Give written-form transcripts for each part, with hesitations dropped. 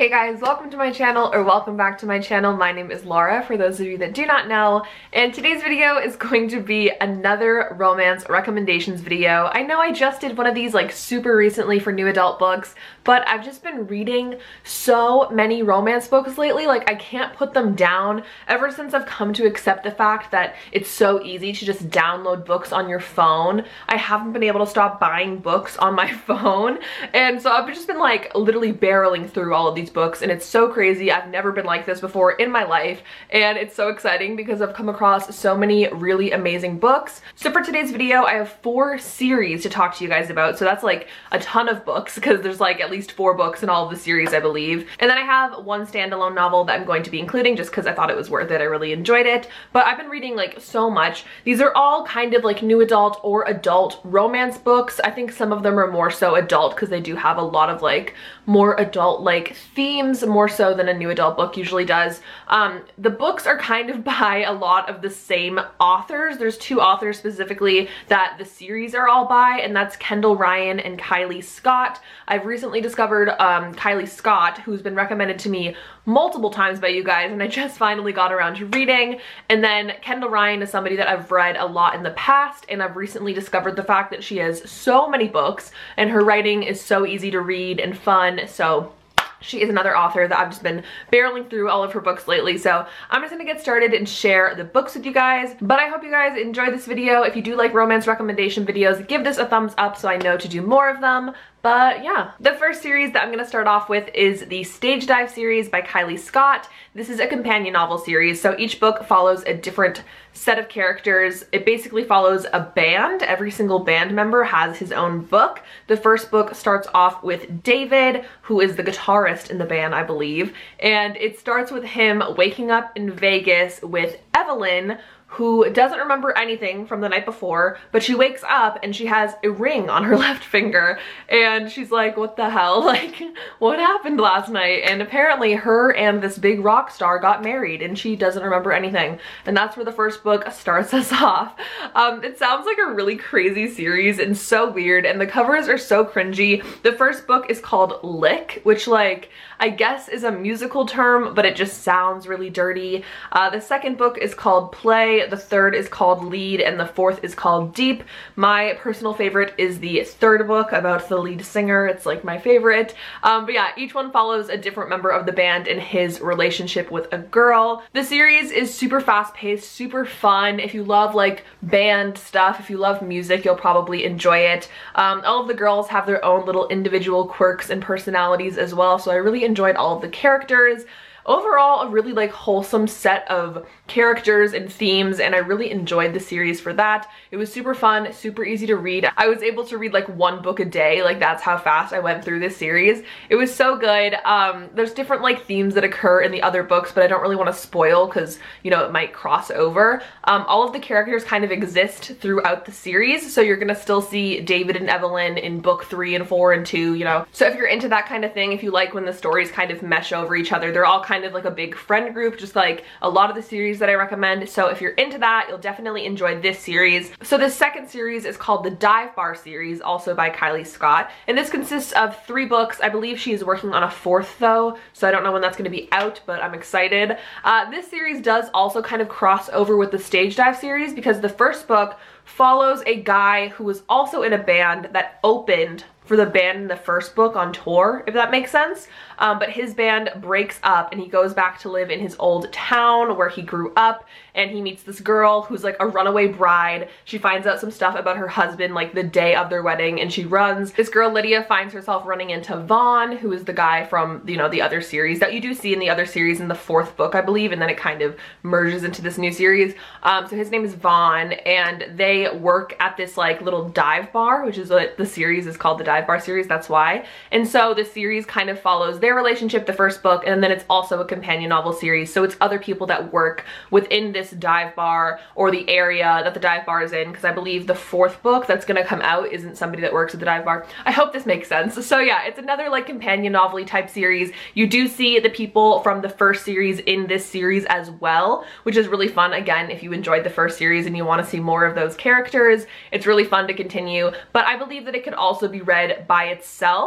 Hey guys, welcome to my channel, or welcome back to my channel. My name is Laura, for those of you that do not know, and today's video is going to be another romance recommendations video. I know I just did one of these like super recently for new adult books, but I've just been reading so many romance books lately, like I can't put them down ever since I've come to accept the fact that it's so easy to just download books on your phone. I haven't been able to stop buying books on my phone, and so I've just been like literally barreling through all of these books, and it's so crazy. I've never been like this before in my life, and it's so exciting because I've come across so many really amazing books. So for today's video, I have 4 series to talk to you guys about, so that's like a ton of books because there's like at least 4 books in all of the series, I believe. And then I have one standalone novel that I'm going to be including just because I thought it was worth it. I really enjoyed it, but I've been reading like so much. These are all kind of like new adult or adult romance books. I think some of them are more so adult because they do have a lot of like more adult like themes, more so than a new adult book usually does. The books are kind of by a lot of the same authors. There's 2 authors specifically that the series are all by, and that's Kendall Ryan and Kylie Scott. I've recently discovered Kylie Scott, who's been recommended to me multiple times by you guys, and I just finally got around to reading. And then Kendall Ryan is somebody that I've read a lot in the past, and I've recently discovered the fact that she has so many books and her writing is so easy to read and fun. So she is another author that I've just been barreling through all of her books lately. So I'm just gonna get started and share the books with you guys. But I hope you guys enjoy this video. If you do like romance recommendation videos, give this a thumbs up so I know to do more of them. But yeah, the first series that I'm gonna start off with is the Stage Dive series by Kylie Scott. This is a companion novel series, so each book follows a different set of characters. It basically follows a band. Every single band member has his own book. The first book starts off with David, who is the guitarist in the band, I believe, and it starts with him waking up in Vegas with Evelyn, who doesn't remember anything from the night before, but she wakes up and she has a ring on her left finger, and she's like, what the hell? Like, what happened last night? And apparently her and this big rock star got married and she doesn't remember anything. And that's where the first book starts us off. It sounds like a really crazy series and so weird, and the covers are so cringy. The first book is called Lick, which like, I guess is a musical term, but it just sounds really dirty. The second book is called Play, the third is called Lead, and the fourth is called Deep. My personal favorite is the third book about the lead singer. It's like my favorite. But yeah, each one follows a different member of the band and his relationship with a girl. The series is super fast paced, super fun. If you love like band stuff, if you love music, you'll probably enjoy it. All of the girls have their own little individual quirks and personalities as well, so I really enjoyed all of the characters. Overall, a really like wholesome set of characters and themes, and I really enjoyed the series for that. It was super fun, super easy to read. I was able to read like 1 book a day, like that's how fast I went through this series. It was so good. There's different like themes that occur in the other books, but I don't really want to spoil because, you know, it might cross over. All of the characters kind of exist throughout the series, so you're gonna still see David and Evelyn in book 3 and 4 and 2, you know. So if you're into that kind of thing, if you like when the stories kind of mesh over each other, they're all kind of like a big friend group, just like a lot of the series that I recommend. So if you're into that, you'll definitely enjoy this series. So the second series is called the Dive Bar series, also by Kylie Scott, and this consists of 3 books. I believe she is working on a 4th though, so I don't know when that's going to be out, but I'm excited. This series does also kind of cross over with the Stage Dive series because the first book follows a guy who was also in a band that opened for the band in the first book on tour, if that makes sense. But his band breaks up and he goes back to live in his old town where he grew up, and he meets this girl who's like a runaway bride. She finds out some stuff about her husband like the day of their wedding, and she runs. This girl Lydia finds herself running into Vaughn, who is the guy from, you know, the other series that you do see in the other series in the 4th book, I believe, and then it kind of merges into this new series. So his name is Vaughn, and they work at this like little dive bar, which is what the series is called, the Dive Bar series, that's why. And so the series kind of follows their relationship, the first book, and then it's also a companion novel series, so it's other people that work within this dive bar or the area that the dive bar is in, because I believe the 4th book that's gonna come out isn't somebody that works at the dive bar. I hope this makes sense. So yeah, it's another like companion novel-y type series. You do see the people from the first series in this series as well, which is really fun. Again, if you enjoyed the first series and you want to see more of those characters, it's really fun to continue, but I believe that it could also be read by itself.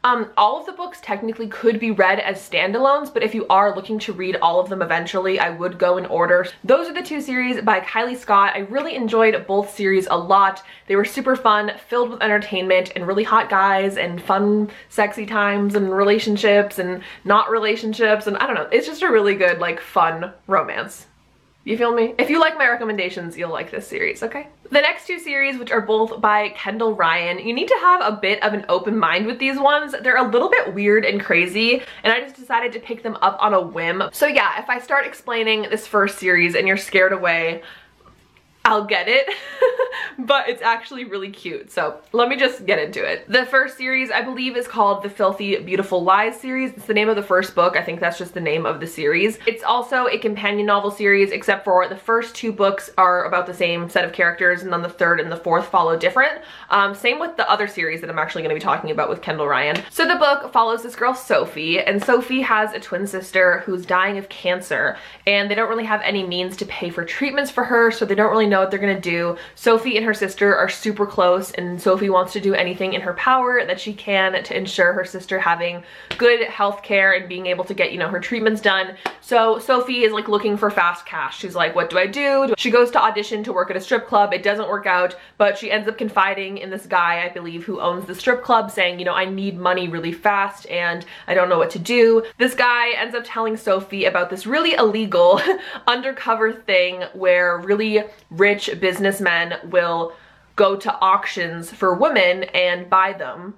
All of the books technically could be read as standalones, but if you are looking to read all of them eventually, I would go in order. Those are the two series by Kylie Scott. I really enjoyed both series a lot. They were super fun, filled with entertainment and really hot guys and fun, sexy times and relationships and not relationships, and I don't know, it's just a really good, like, fun romance. You feel me? If you like my recommendations, you'll like this series, okay? The next two series, which are both by Kendall Ryan, you need to have a bit of an open mind with these ones. They're a little bit weird and crazy, and I just decided to pick them up on a whim. So yeah, if I start explaining this first series and you're scared away, I'll get it, but it's actually really cute. So let me just get into it. The first series, I believe, is called the Filthy Beautiful Lies series. It's the name of the first book. I think that's just the name of the series. It's also a companion novel series, except for the first two books are about the same set of characters, and then the third and the fourth follow different. Same with the other series that I'm actually going to be talking about with Kendall Ryan. So the book follows this girl, Sophie, and Sophie has a twin sister who's dying of cancer, and they don't really have any means to pay for treatments for her, so they don't really know what they're gonna do. Sophie and her sister are super close, and Sophie wants to do anything in her power that she can to ensure her sister having good health care and being able to get, you know, her treatments done. So Sophie is like looking for fast cash. She's like, what do I do? She goes to audition to work at a strip club. It doesn't work out, but she ends up confiding in this guy, I believe, who owns the strip club, saying, you know, I need money really fast and I don't know what to do. This guy ends up telling Sophie about this really illegal undercover thing where really rich businessmen will go to auctions for women and buy them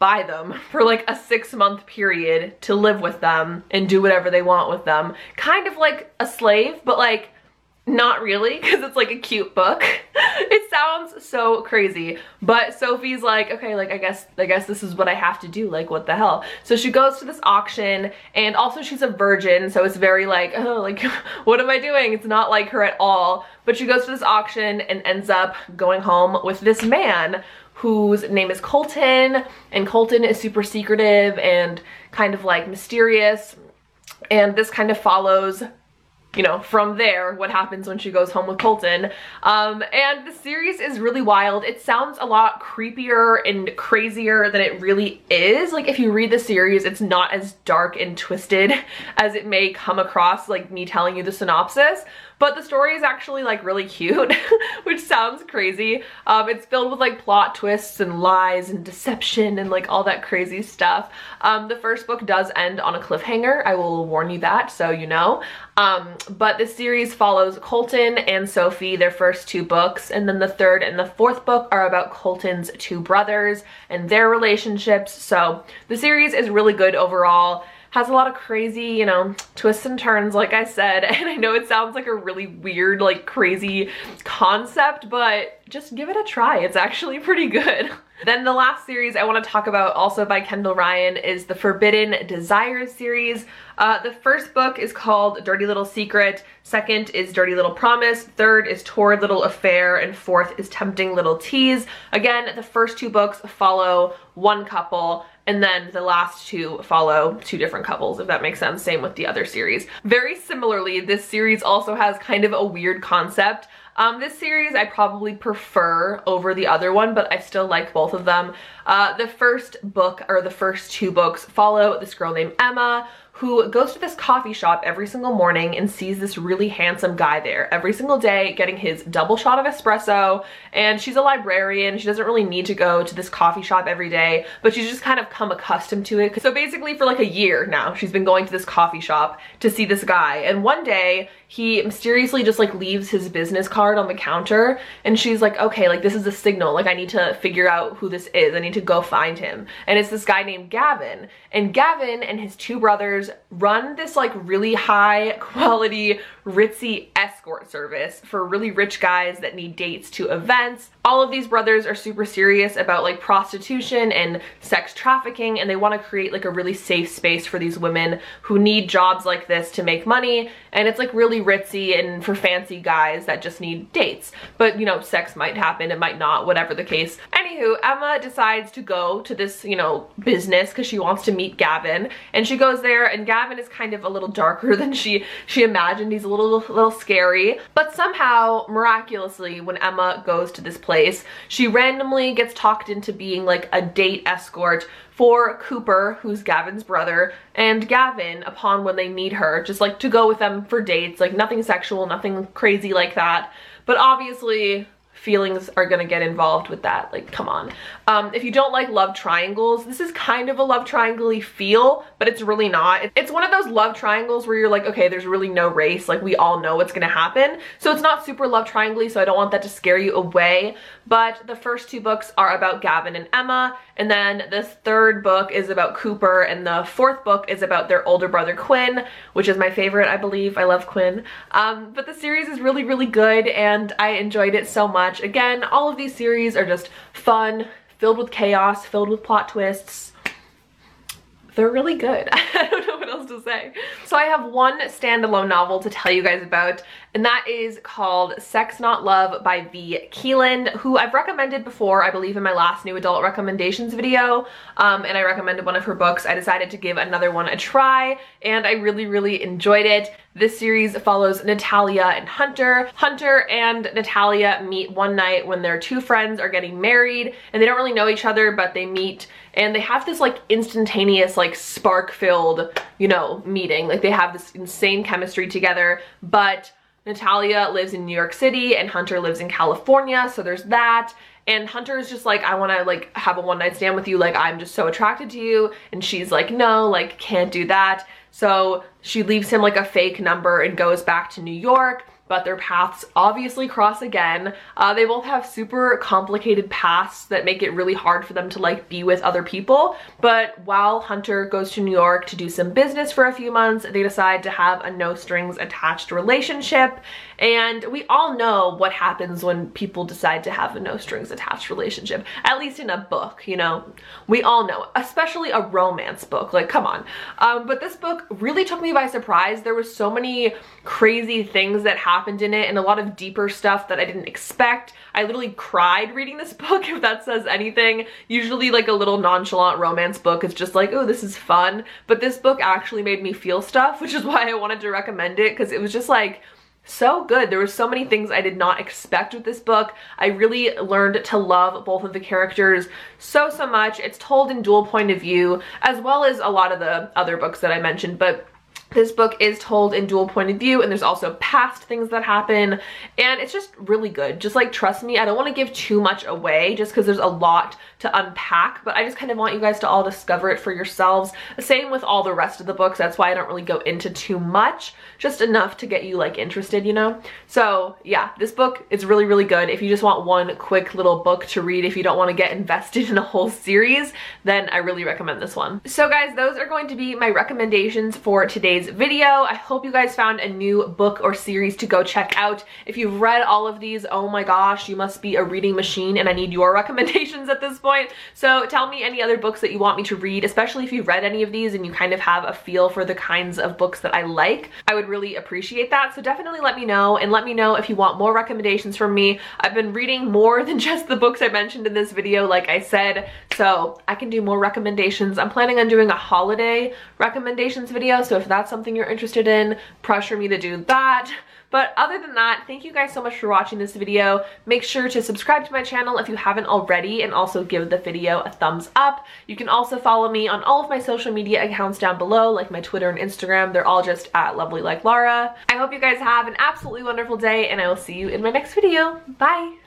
for like a 6-month period to live with them and do whatever they want with them. Kind of like a slave, but like not really, because it's like a cute book. It sounds so crazy, but Sophie's like, okay, like I guess this is what I have to do, like what the hell. So she goes to this auction, and also she's a virgin, so it's very like, oh, like what am I doing? It's not like her at all. But she goes to this auction and ends up going home with this man whose name is Colton, and Colton is super secretive and kind of like mysterious, and this kind of follows, you know, from there, what happens when she goes home with Colton. And the series is really wild. It sounds a lot creepier and crazier than it really is. Like, if you read the series, it's not as dark and twisted as it may come across, like me telling you the synopsis. But the story is actually like really cute, which sounds crazy. It's filled with like plot twists and lies and deception and like all that crazy stuff. The first book does end on a cliffhanger. I will warn you that, so you know. But the series follows Colton and Sophie, their first two books, and then the third and the fourth book are about Colton's two brothers and their relationships. So the series is really good overall. Has a lot of crazy, you know, twists and turns, like I said, and I know it sounds like a really weird, like crazy concept, but just give it a try. It's actually pretty good. Then the last series I want to talk about, also by Kendall Ryan, is the Forbidden Desires series. The first book is called Dirty Little Secret, second is Dirty Little Promise, third is Torrid Little Affair, and fourth is Tempting Little Tease. Again, the first two books follow one couple, and then the last two follow two different couples, if that makes sense. Same with the other series. Very similarly, this series also has kind of a weird concept. This series I probably prefer over the other one, but I still like both of them. The first book, or the first two books, follow this girl named Emma, who goes to this coffee shop every single morning and sees this really handsome guy there every single day getting his double shot of espresso. And she's a librarian. She doesn't really need to go to this coffee shop every day, but she's just kind of come accustomed to it. So basically for like a year now, she's been going to this coffee shop to see this guy. And one day he mysteriously just like leaves his business card on the counter, and she's like, okay, like this is a signal, like I need to figure out who this is. I need to go find him. And it's this guy named Gavin. And Gavin and his two brothers run this like really high quality ritzy escort service for really rich guys that need dates to events. All of these brothers are super serious about like prostitution and sex trafficking, and they want to create like a really safe space for these women who need jobs like this to make money. And it's like really ritzy and for fancy guys that just need dates. But you know, sex might happen, it might not, whatever the case. Anywho, Emma decides to go to this, you know, business because she wants to meet Gavin. And she goes there, and Gavin is kind of a little darker than she imagined. He's a little scary. scary, but somehow, miraculously, when Emma goes to this place, she randomly gets talked into being like a date escort for Cooper, who's Gavin's brother, and Gavin upon when they need her, just like to go with them for dates, like nothing sexual, nothing crazy like that. But obviously, feelings are gonna get involved with that, like come on. If you don't like love triangles, this is kind of a love triangle-y feel, but it's really not. It's one of those love triangles where you're like, okay, there's really no race, like we all know what's gonna happen. So it's not super love triangle-y, so I don't want that to scare you away. But the first 2 books are about Gavin and Emma, and then this 3rd book is about Cooper, and the 4th book is about their older brother Quinn, which is my favorite, I believe. I love Quinn. But the series is really, really good, and I enjoyed it so much. Again, all of these series are just fun, filled with chaos, filled with plot twists. They're really good. I don't know what else to say. So I have one standalone novel to tell you guys about, and that is called Sex Not Love by V. Keeland, who I've recommended before, I believe in my last new adult recommendations video, and I recommended one of her books. I decided to give another one a try, and I really, really enjoyed it. This series follows Natalia and Hunter. Hunter and Natalia meet one night when their 2 friends are getting married, and they don't really know each other, but they meet, and they have this like instantaneous, like spark-filled, you know, meeting. Like they have this insane chemistry together, but Natalia lives in New York City and Hunter lives in California, so there's that. And Hunter is just like, I want to like have a one-night stand with you, like I'm just so attracted to you. And she's like, no, like can't do that. So she leaves him like a fake number and goes back to New York, but their paths obviously cross again. They both have super complicated pasts that make it really hard for them to like be with other people. But while Hunter goes to New York to do some business for a few months, they decide to have a no strings attached relationship. And we all know what happens when people decide to have a no strings attached relationship, at least in a book, you know, we all know, especially a romance book, like come on. But this book really took me by surprise. There was so many crazy things that happened in it and a lot of deeper stuff that I didn't expect. I literally cried reading this book, if that says anything. Usually like a little nonchalant romance book is just like, oh, this is fun. But this book actually made me feel stuff, which is why I wanted to recommend it, because it was just like, so good. There were so many things I did not expect with this book. I really learned to love both of the characters so much. It's told in dual point of view, as well as a lot of the other books that I mentioned, but this book is told in dual point of view, and there's also past things that happen, and it's just really good. Just like, trust me, I don't want to give too much away just because there's a lot to unpack, but I just kind of want you guys to all discover it for yourselves. Same with all the rest of the books. That's why I don't really go into too much, just enough to get you like interested, you know? So yeah, this book is really, really good. If you just want one quick little book to read, if you don't want to get invested in a whole series, then I really recommend this one. So guys, those are going to be my recommendations for today's video. I hope you guys found a new book or series to go check out. If you've read all of these, oh my gosh, you must be a reading machine, and I need your recommendations at this point. So tell me any other books that you want me to read, especially if you've read any of these and you kind of have a feel for the kinds of books that I like. I would really appreciate that. So definitely let me know, and let me know if you want more recommendations from me. I've been reading more than just the books I mentioned in this video, like I said, so I can do more recommendations. I'm planning on doing a holiday recommendations video, so if that's something you're interested in, pressure me to do that. But other than that, thank you guys so much for watching this video. Make sure to subscribe to my channel if you haven't already, and also give the video a thumbs up. You can also follow me on all of my social media accounts down below, like my Twitter and Instagram. They're all just at LovellyLikeLara. I hope you guys have an absolutely wonderful day, and I will see you in my next video. Bye!